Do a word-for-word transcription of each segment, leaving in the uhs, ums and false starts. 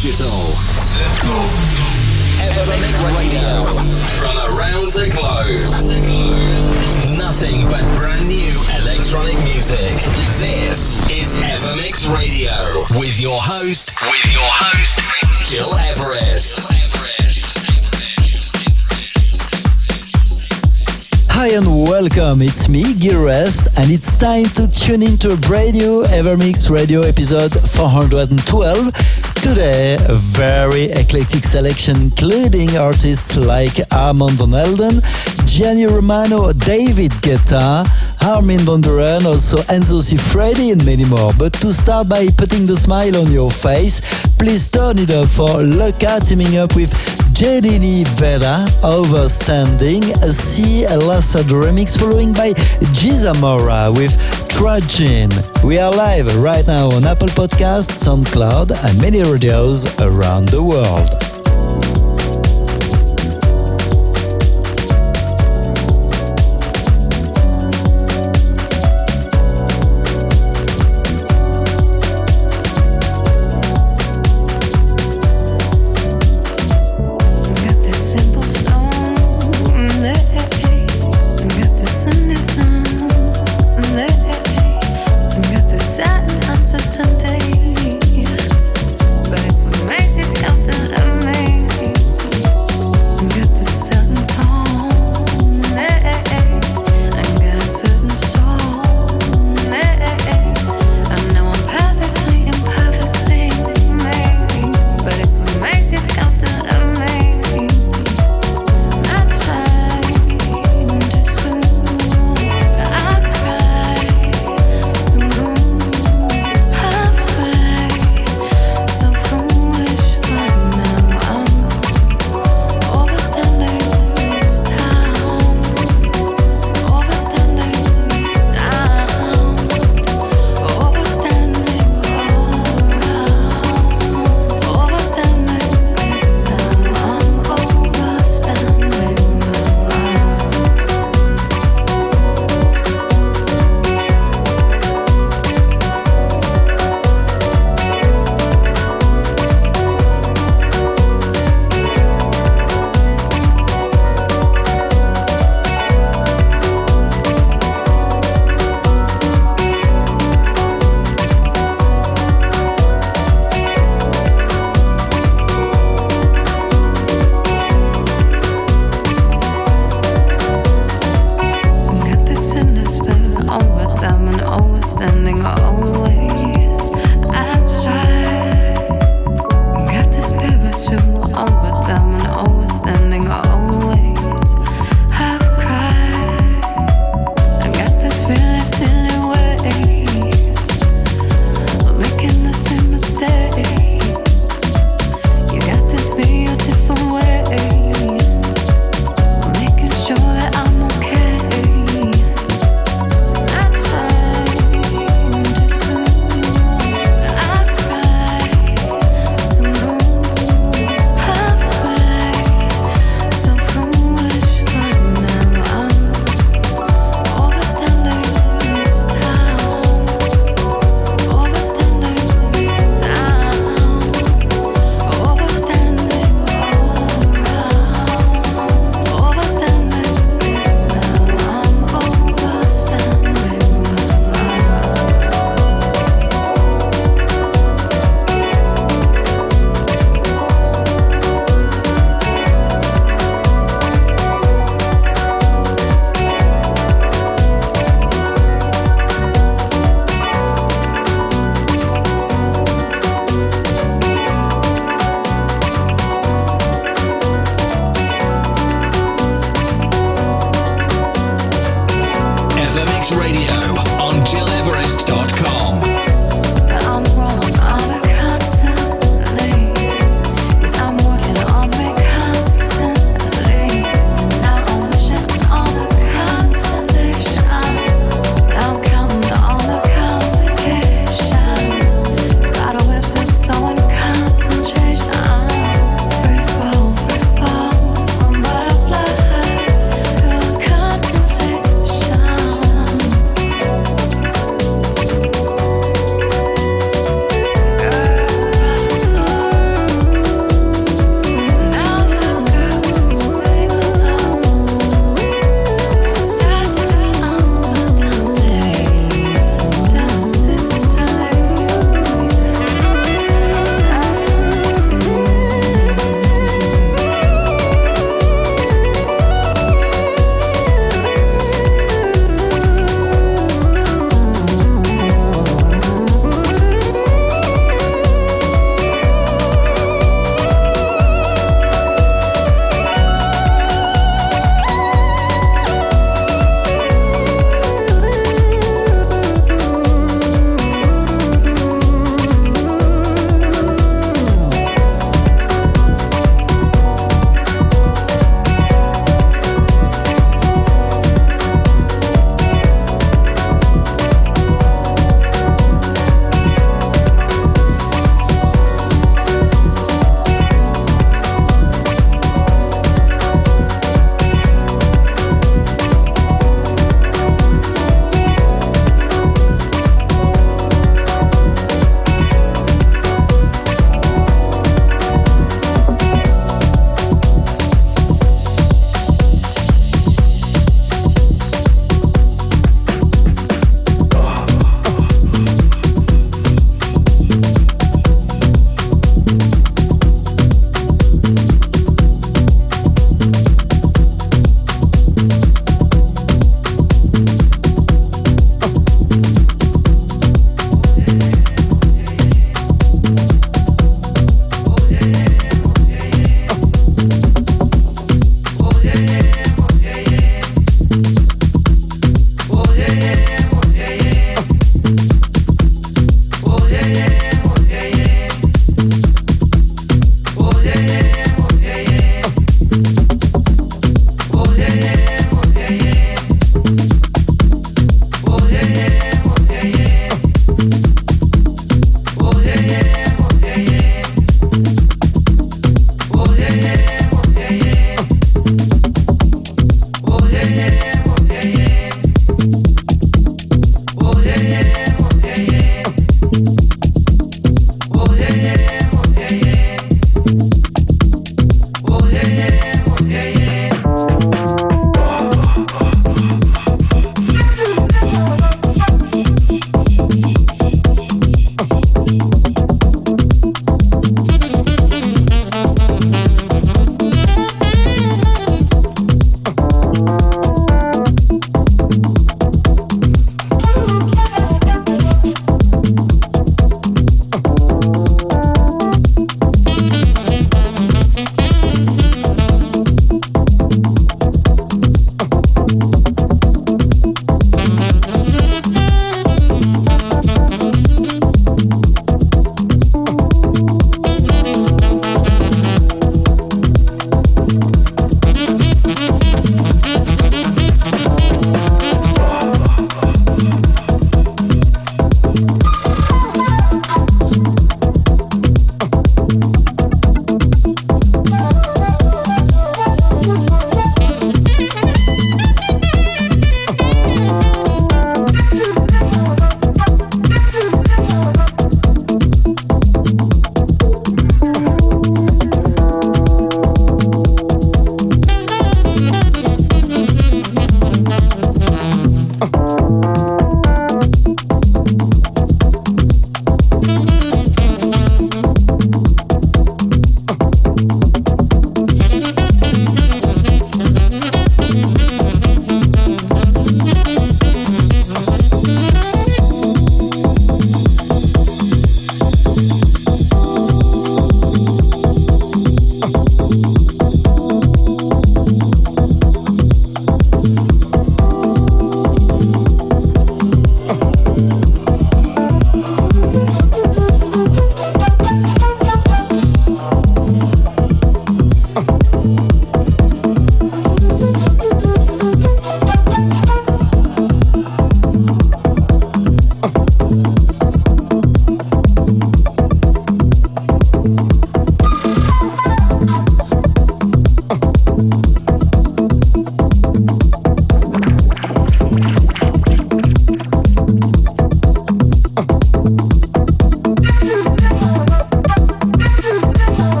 digital. Let's go. Evermix Radio. From around the globe. Nothing but brand new electronic music. This is Evermix Radio. With your host, with your host, Gil Everest. Hi and welcome, it's me, Gil Everest, and it's time to tune into a brand new Evermix Radio episode four hundred twelve. Today, a very eclectic selection including artists like Armand Van Helden, Gianni Romano, David Guetta, Armin van Buuren, also Enzo Siffredi and many more. But to start by putting the smile on your face, please turn it up for Luca teaming up with Jedini Vera, Overstanding, a C. Lassad remix following by Gizamora with Tragin. We are live right now on Apple Podcasts, SoundCloud and many radios around the world.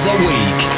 the week.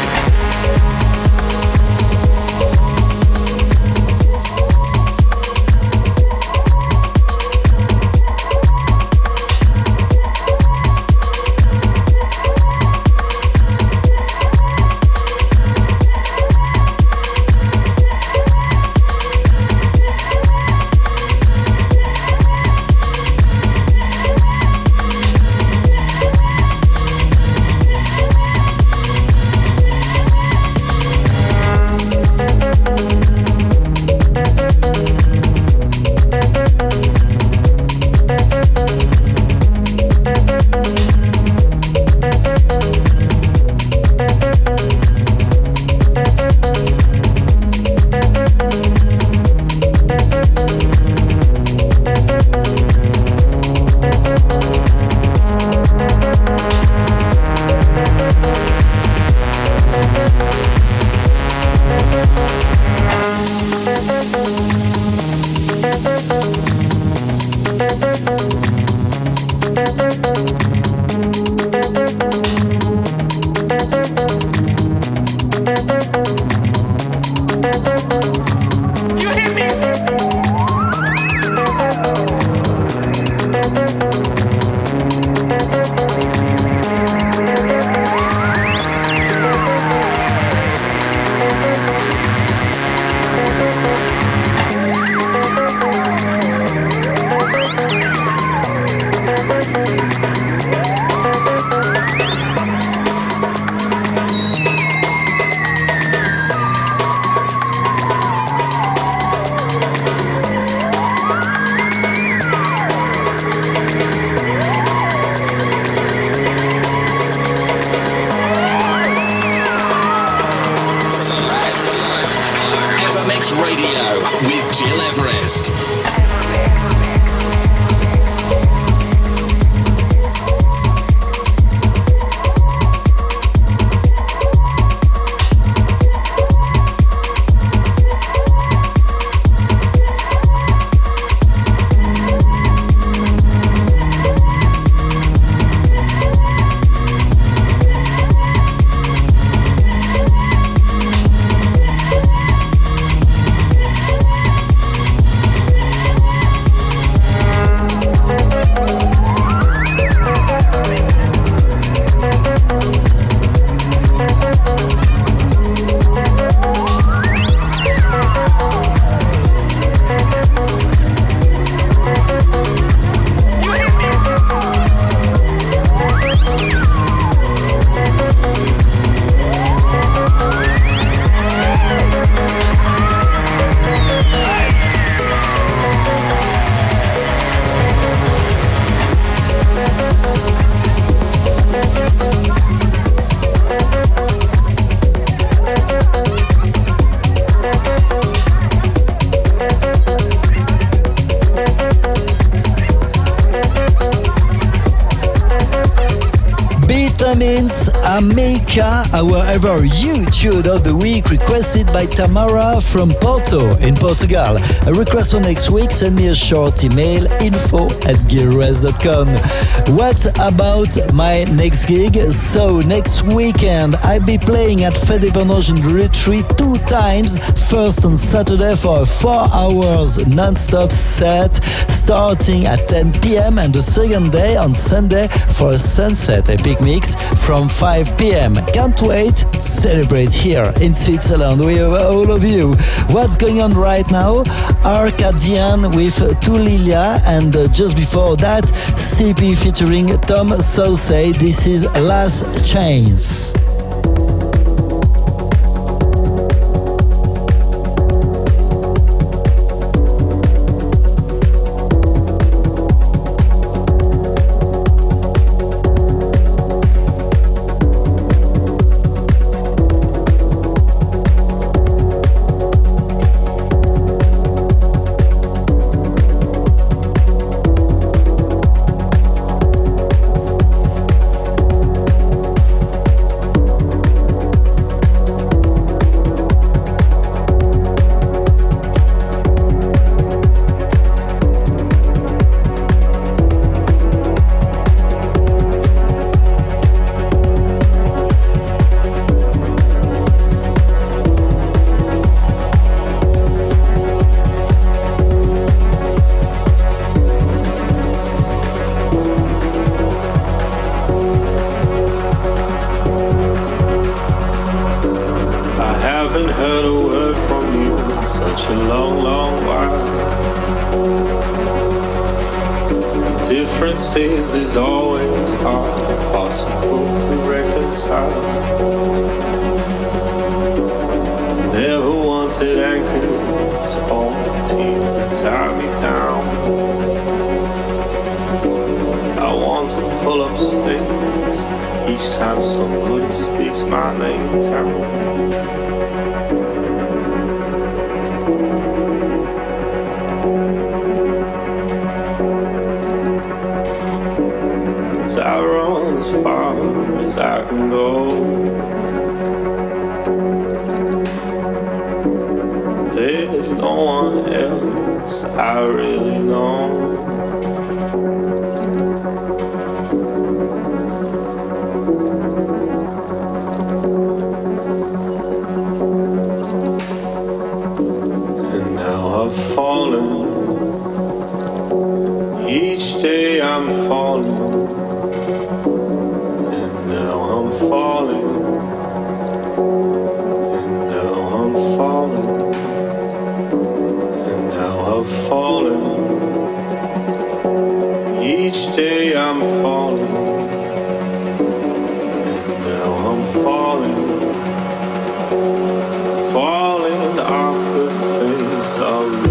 Means Amica, our ever you tune of the week, requested by Tamara from Porto in Portugal. A request for next week, send me a short email, info at gearres dot com. What about my next gig? So next weekend I'll be playing at Fede Vendange in Retreat two times. First on Saturday for a four hours non-stop set starting at ten p.m. and the second day on Sunday for a sunset epic mix from five p.m. Can't wait to celebrate here in Switzerland with all of you. What's going on right now? Arcadian with Tulilia, and uh, just before that, C P featuring Tom Sauce. This is Last Chance. haven't heard a word from you in such a long, long while. The differences is always hard, impossible to reconcile. Never wanted anchors on the teeth that tie me down. I want to pull up stakes each time somebody speaks my name in town. I run as far as I can go. There's no one else I really know. And now I've fallen. Each day I'm falling. Falling, and now I'm falling, and now I've fallen. Each day I'm falling, and now I'm falling, falling off the face of you.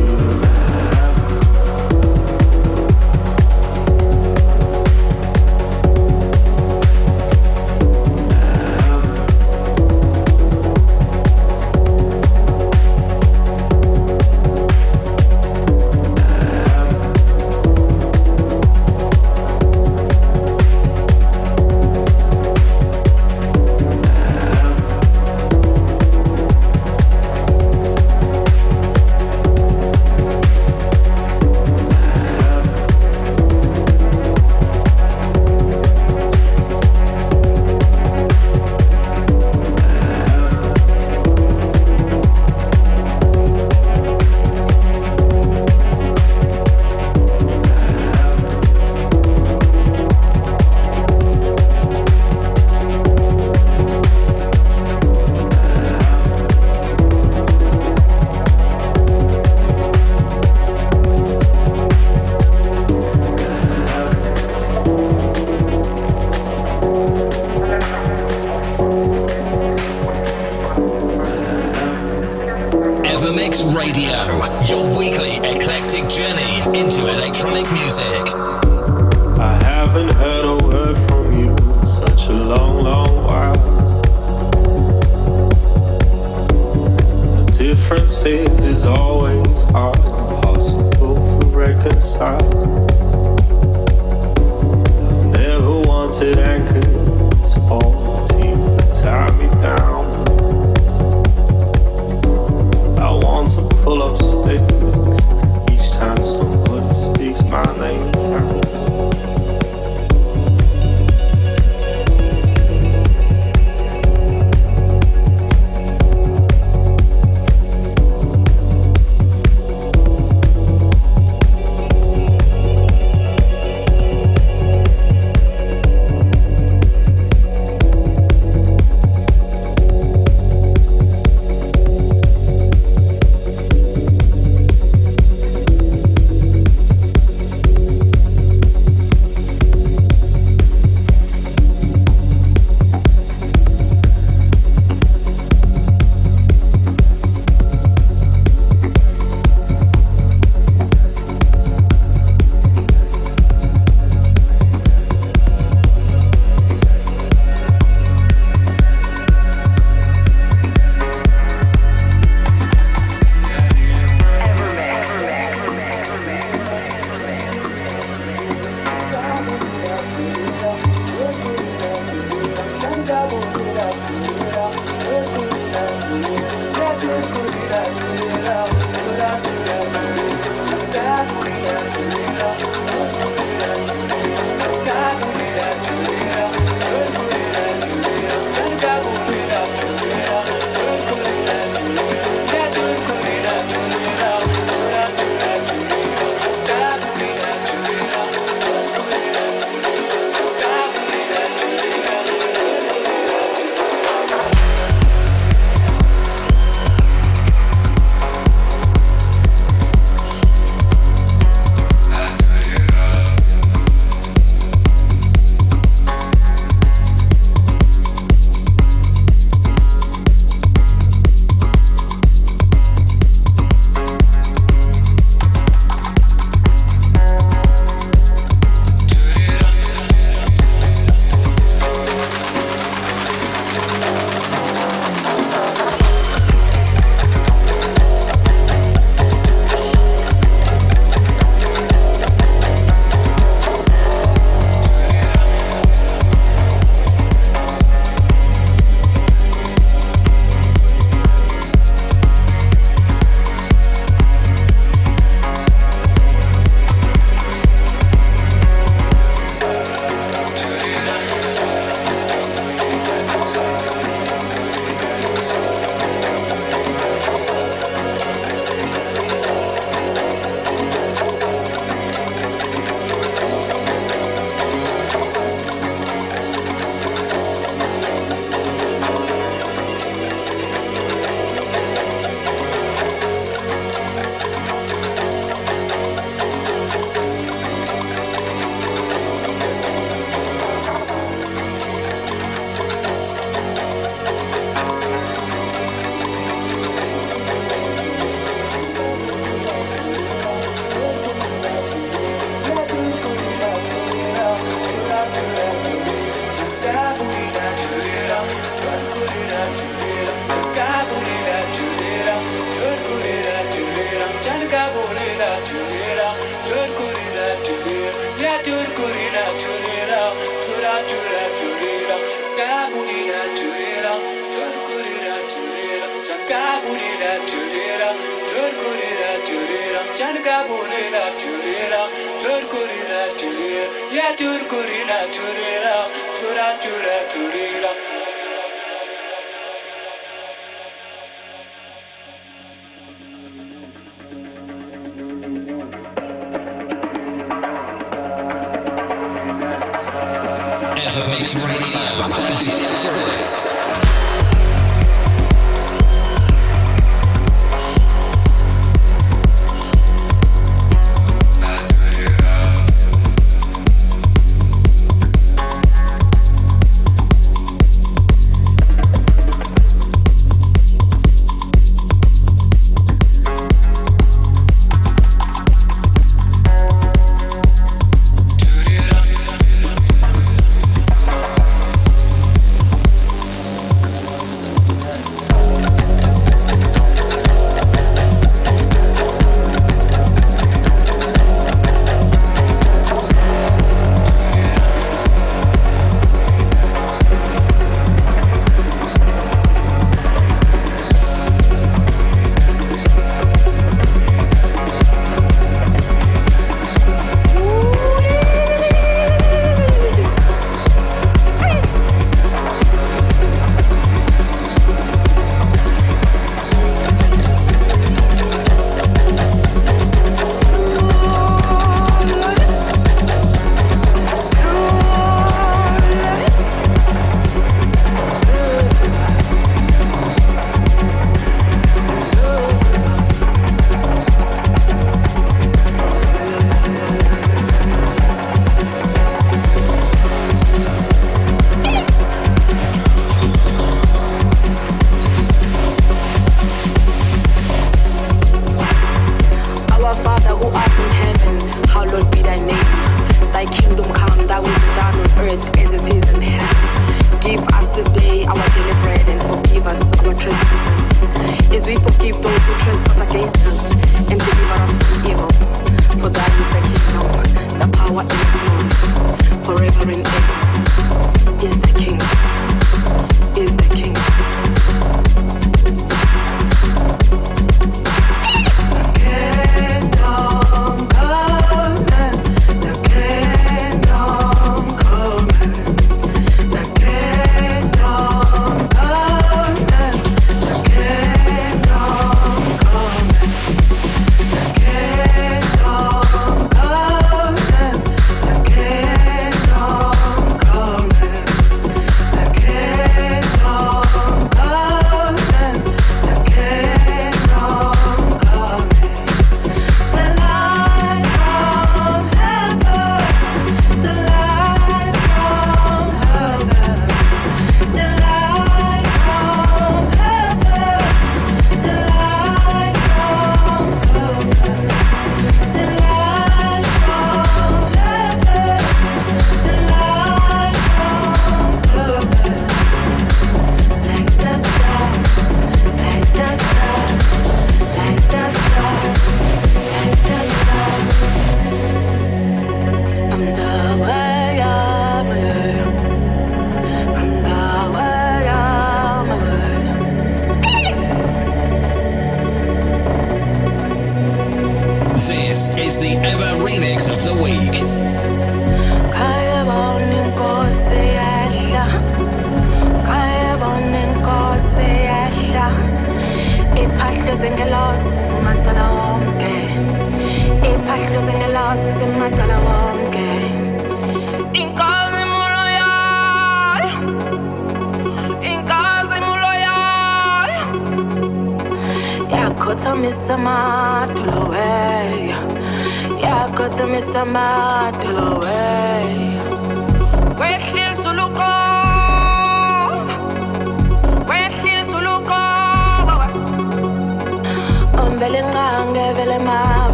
Evermix Radio, Best Everest.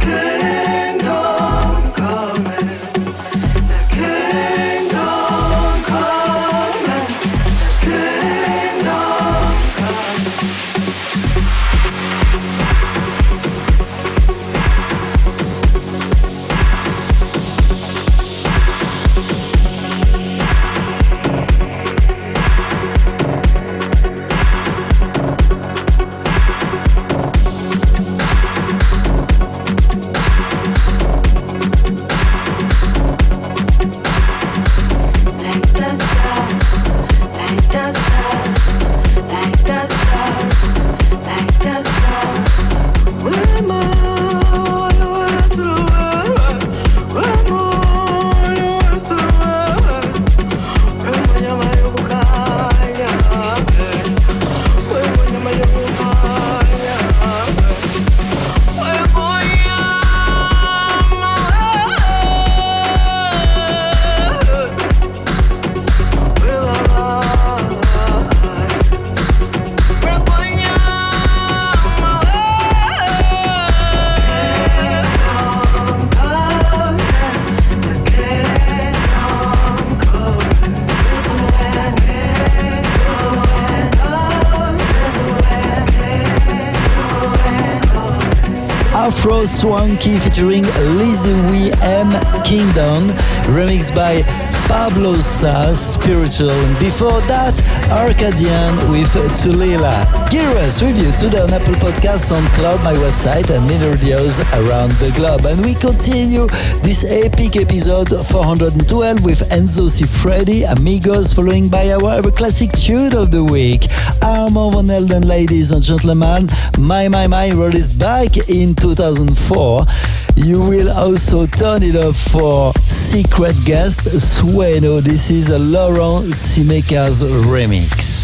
Kingdom Afro Swanky featuring Lizzie Wee M. Kingdom, remixed by Pablo Sa, Spiritual. Before that, Arcadian with Tulila. Giras with you today on Apple Podcasts, SoundCloud, my website, and many radios around the globe. And we continue this epic episode four hundred twelve with Enzo Cifredi, Amigos, following by our ever classic tune of the week, Armand Van Helden, ladies and gentlemen, My My My, released back in two thousand four. You will also turn it up for secret guest Sueno. This is a Laurent Simeka's remix.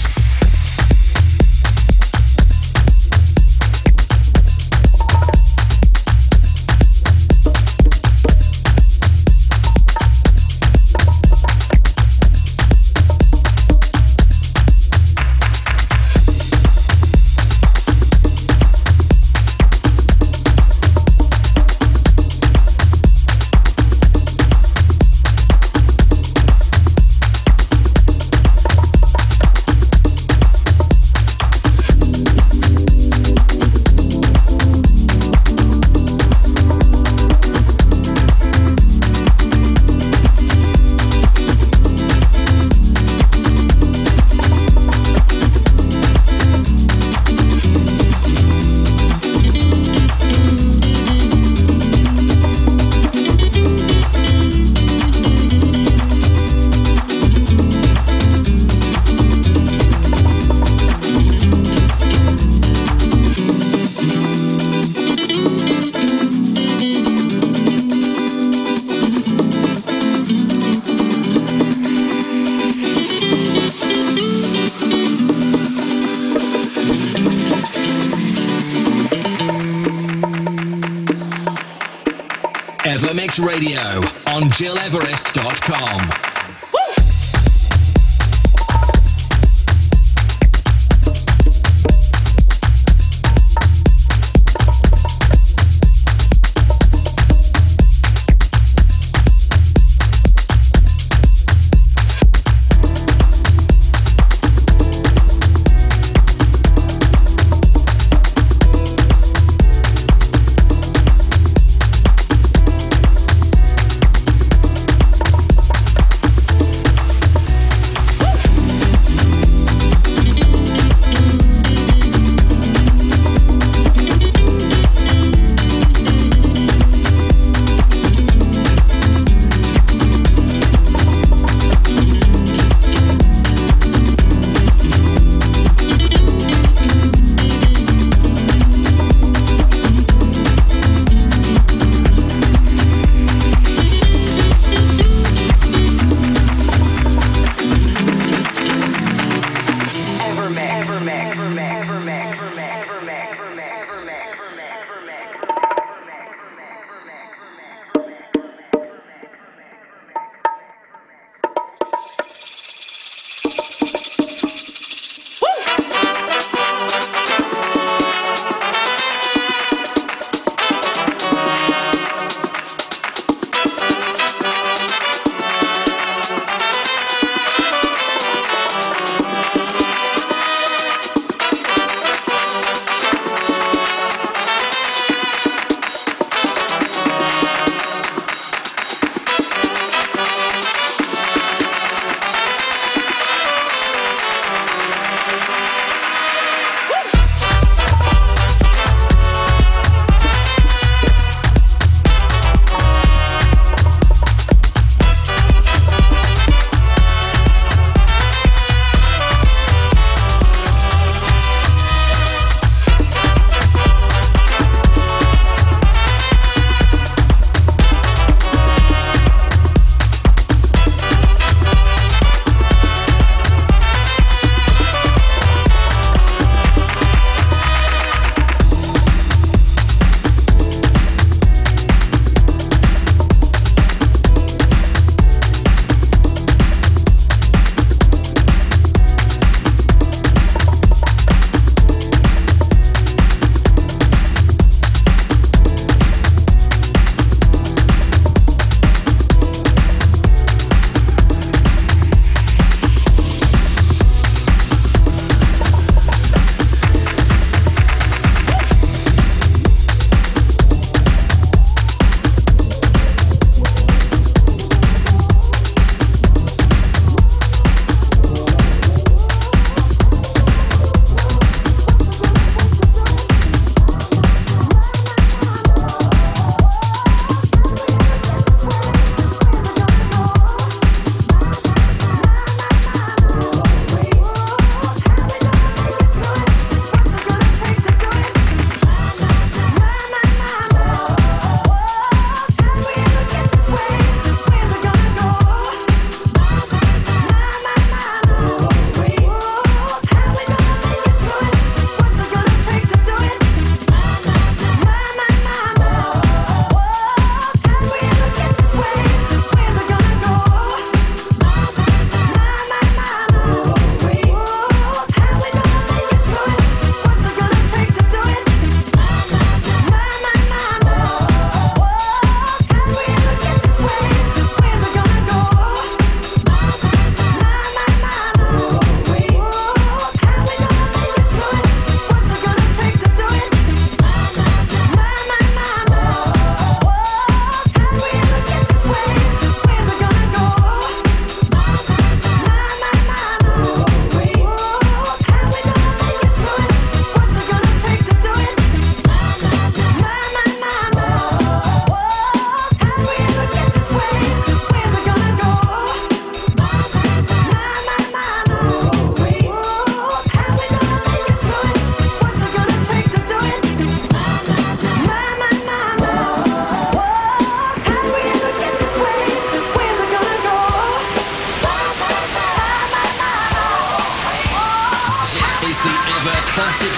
Evermix Radio on Gil Everest dot com.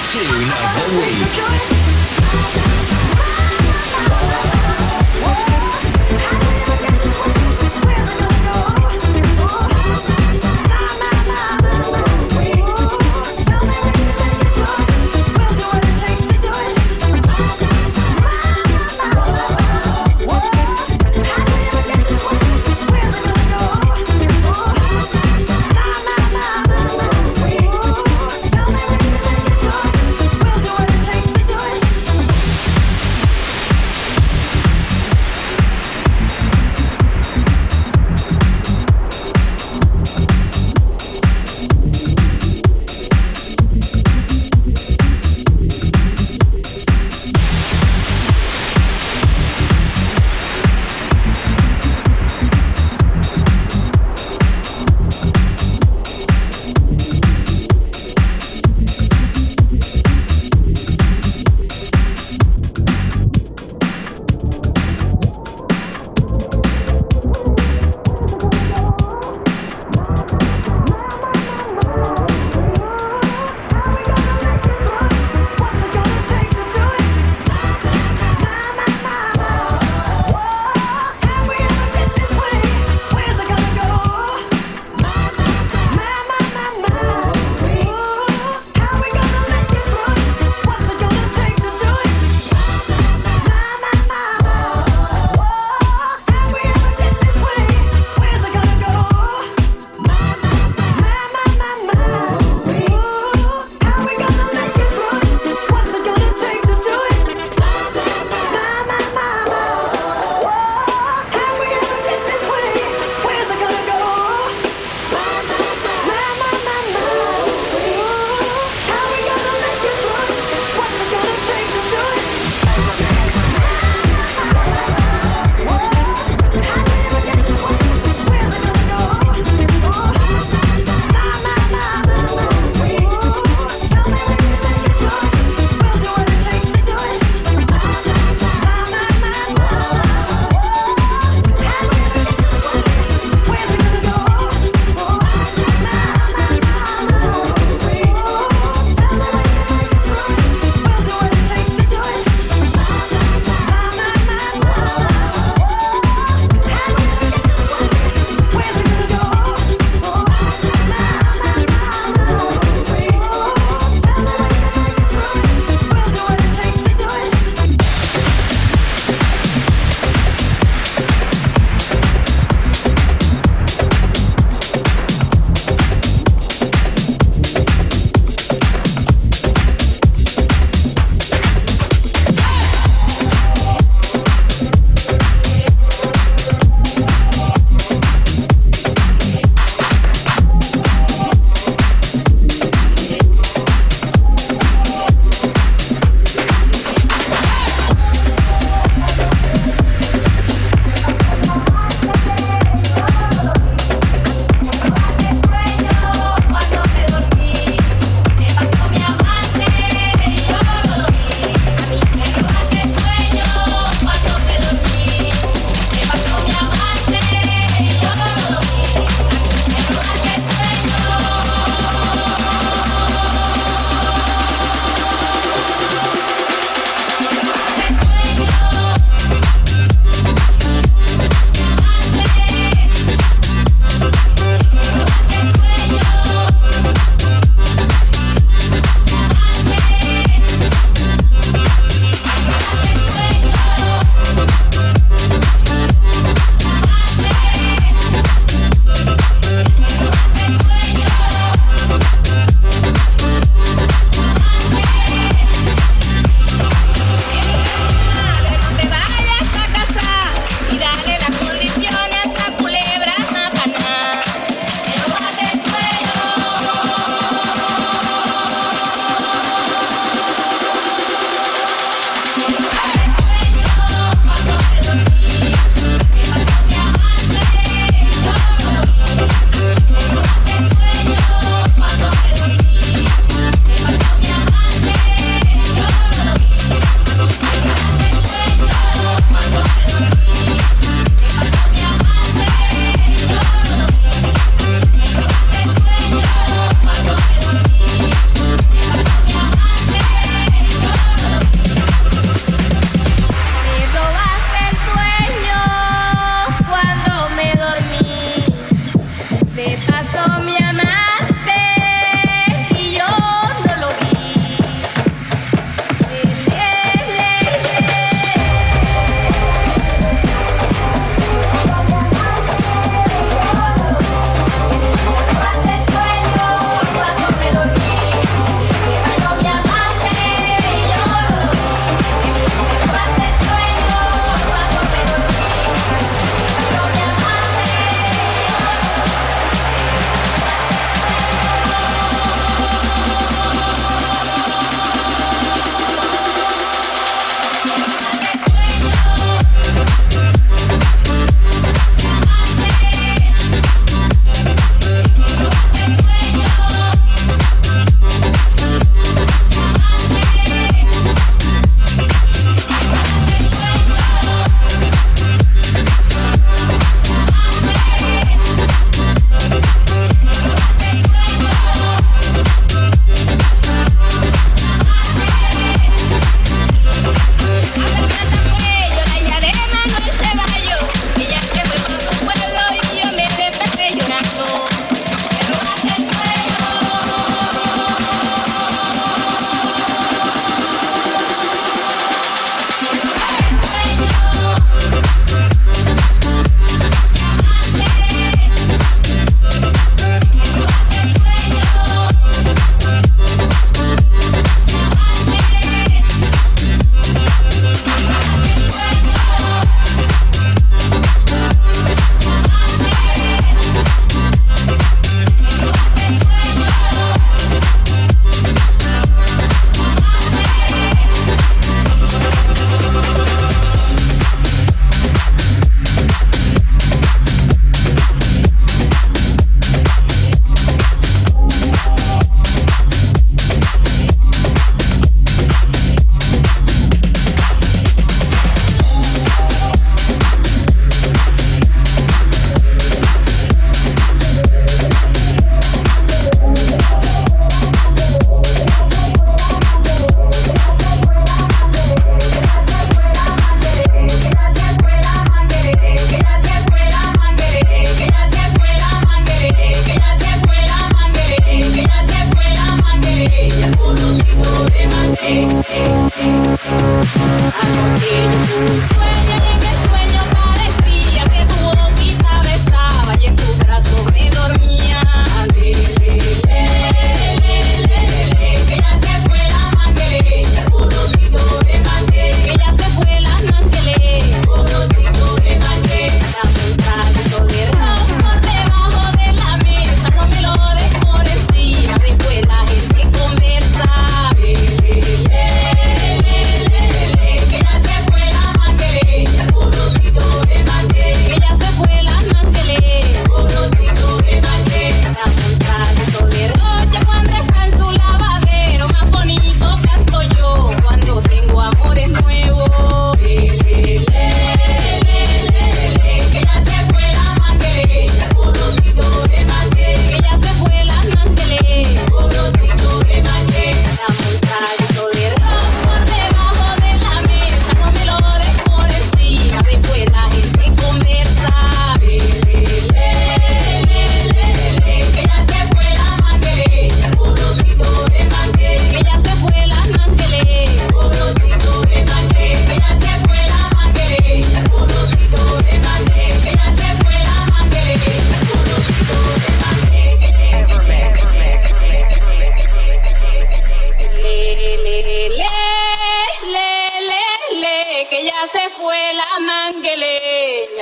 Tune of the Week. Take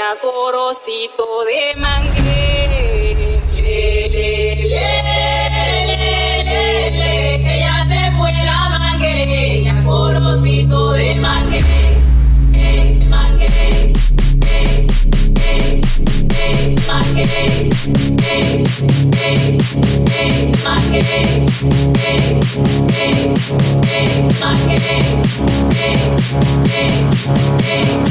a corocito de mangué. Le, le, le, le, le, le, que ya se fue la manguereña, corocito de mangué. Eh, mangué, eh, eh, eh, mangué, eh, eh, eh, mangué, eh, eh, eh, mangué, eh, eh,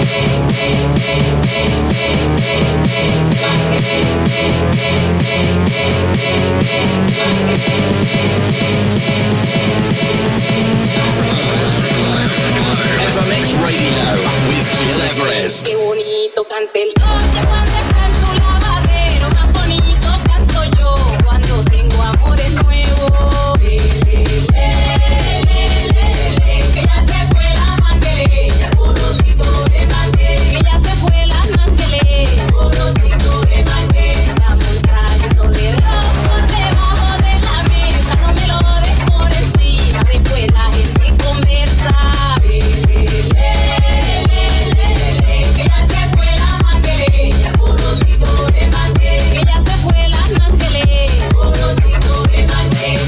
Evermix Radio with Gil Everest. Qué bonito canta el coche cuando está en su lavadero, más bonito canto yo cuando tengo amores nuevos. Le, le, le, le, le, le, que ya se fue la manguereña, corocito de mangué, que ya se fue la manguereña, corocito de mangué. Dame un traguito de ron por debajo de la mesa, no me lo des por encima, después la gente conversa. Le, le, le, le, le, le, que ya se fue la manguereña, corocito de mangué, que ya se fue la manguereña, corocito de mangué.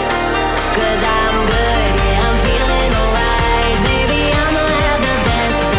Cause I'm good, yeah, I'm feeling alright. Baby, I'ma have the best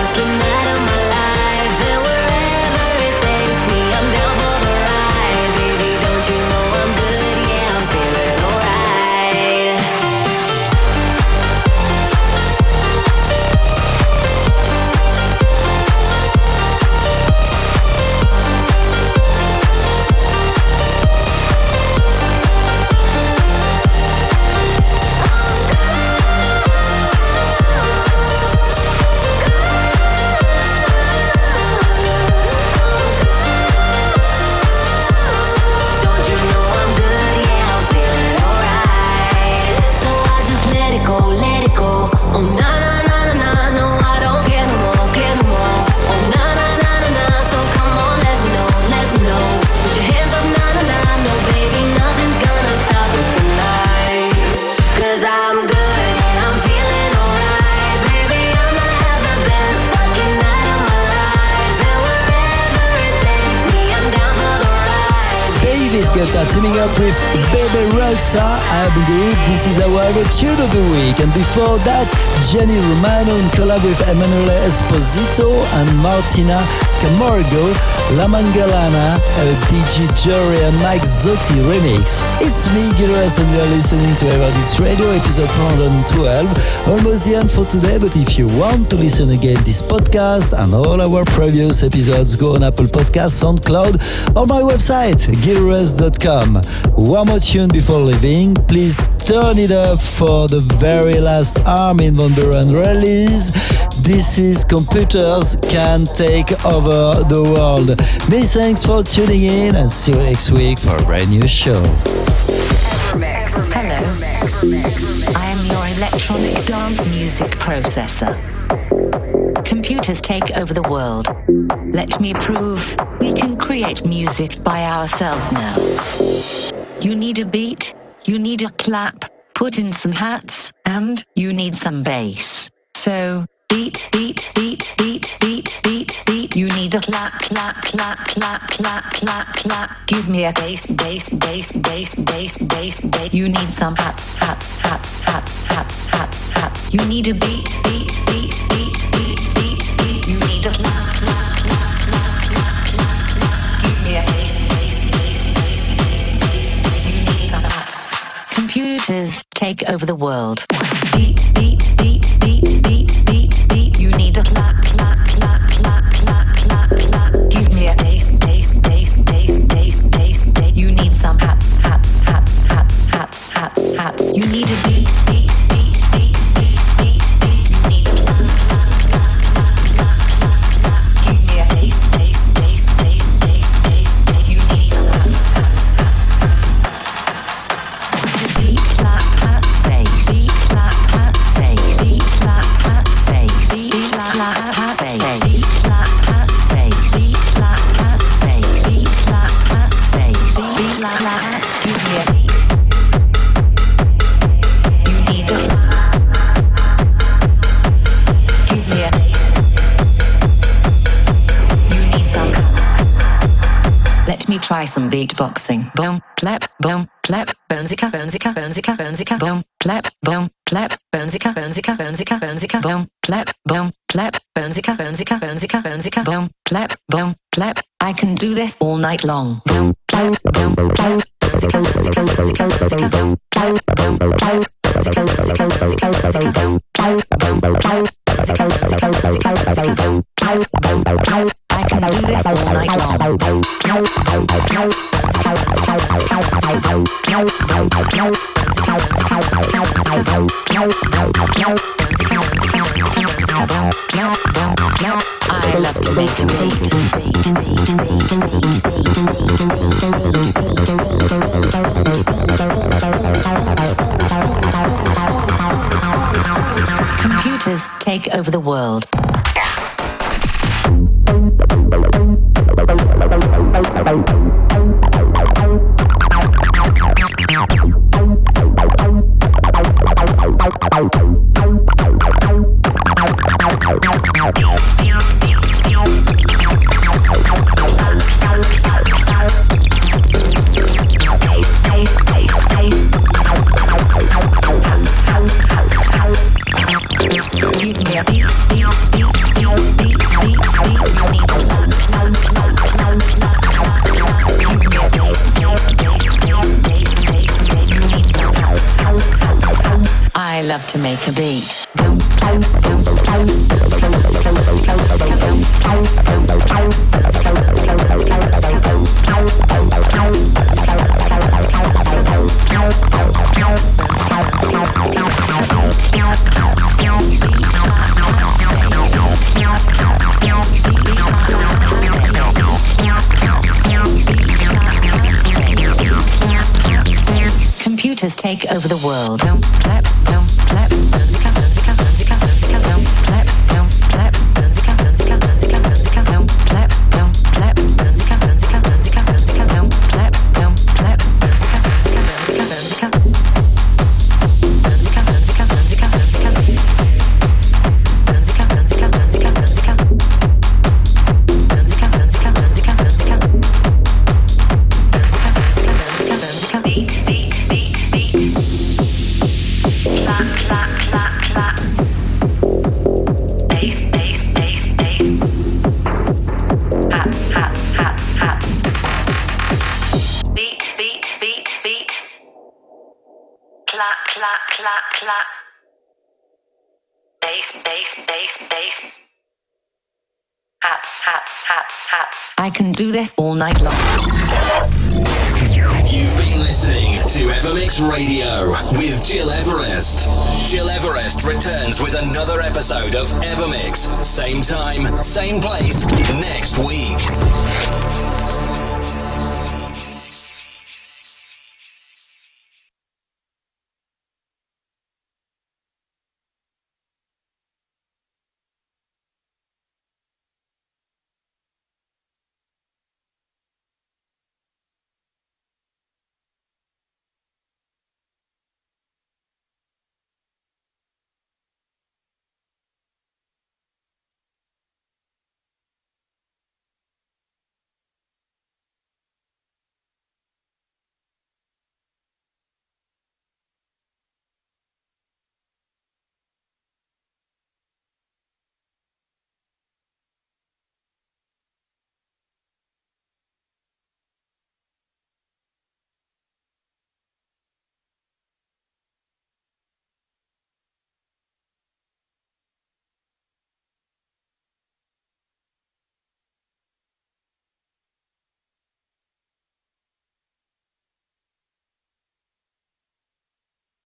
teaming up with Bebe Rexha, I'm Good. This is our tune of the week. And before that, Jenny Romano in collab with Emanuele Esposito and Martina Camargo, La Mangalana, a D J Jory and Mike Zotti remix. It's me, Gilres, and you're listening to Evermix Radio, episode four hundred twelve. Almost the end for today, but if you want to listen again this podcast and all our previous episodes, go on Apple Podcasts, SoundCloud, or my website, gilres dot com. One more tune before leaving. Please turn it up for the very last Armin van Buuren release. This is Computers Can Take Over the World. Many thanks for tuning in and see you next week for a brand new show. Hello. I am your electronic dance music processor. Computers take over the world. Let me prove we can create music by ourselves now. You need a beat, you need a clap, put in some hats, and you need some bass. So, beat, beat, beat, beat, beat, beat, beat. You need a clap, clap, clap, clap, clap, clap, clap. Give me a bass, bass, bass, bass, bass, bass, bass. You need some hats, hats, hats, hats, hats, hats, hats. You need a beat, beat, beat, beat, beat, beat, beat. You need a clap, clap, clap, clap, clap, clap, clap. Give me a bass, bass, bass, bass, bass, bass, bass. You need some hats. Computers take over the world. Beat, beat, beat, beat, beat, beat, beat. You need a clap, clap, clap, clap, clap, clap, clap. Give me a bass, bass, bass, bass, bass, bass, bass. You need some hats, hats, hats, hats, hats, hats, hats. You need a beat, beat, beat, beat, beat, beat, beat. You need a clap, clap, clap, clap, clap, clap, clap. Give me a bass, bass, bass, bass, bass, bass, bass. You need some hats, hats, hats, hats. Beat, clap, hat, say, beat, clap, hat, say, beat, clap, hat, say, beat, clap, hat, say, beat, clap, hat, say, beat, clap, hat, say, beat, clap, hat, say, beat, clap, hat. Give me a beat. You need a clap. Give me a bass. You need some. Let me try some beatboxing. Boom, clap, boom, clap, boomzika, boomzika, boomzika, boomzika, boom, clap, boom, clap, boomzika, boomzika, boomzika, boomzika, boom, clap, boom, clap, boomzika, boomzika, boomzika, boomzika, boom, clap, boom, clap. I can do this all night long. Boom, clap, boom, clap, boomzika, boomzika, boomzika, boomzika, boom, clap, boom, clap, boomzika, boomzika, boomzika, boomzika, boom, clap, boom, clap, boomzika, boomzika, boomzika, boomzika, boom, clap, boom, clap. I can do this all night long. I love to make a beat. Computers take over the world. I love to make a beat. Computers take over the world. Don't clap, don't clap, musica, musica, musica, musica, don't clap, don't clap, musica, musica, musica, musica, don't clap, don't clap, musica, musica, musica, musica, don't clap, don't clap, musica, musica, musica, musica, musica, musica, musica, musica, musica, musica, musica, musica, musica, musica, musica, musica, musica, musica. bass, bass, bass. Hats, hats, hats, hats. I can do this all night long. You've been listening to Evermix Radio with Gil Everest. Gil Everest returns with another episode of Evermix. Same time, same place, next week.